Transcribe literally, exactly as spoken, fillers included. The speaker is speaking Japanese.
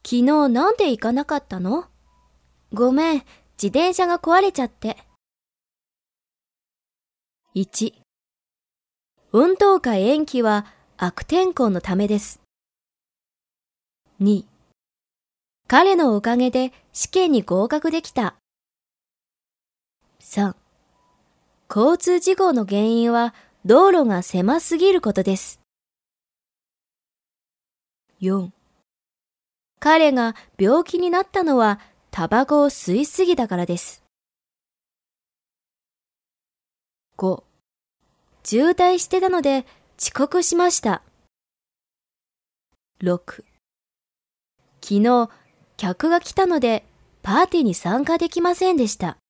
昨日なんで行かなかったの？ごめん、自転車が壊れちゃって。いち、運動会延期は悪天候のためです。に、彼のおかげで試験に合格できた。さん、交通事故の原因は道路が狭すぎることです。よん、彼が病気になったのはタバコを吸いすぎたからです。ご、渋滞してたので遅刻しました。ろく、昨日客が来たのでパーティーに参加できませんでした。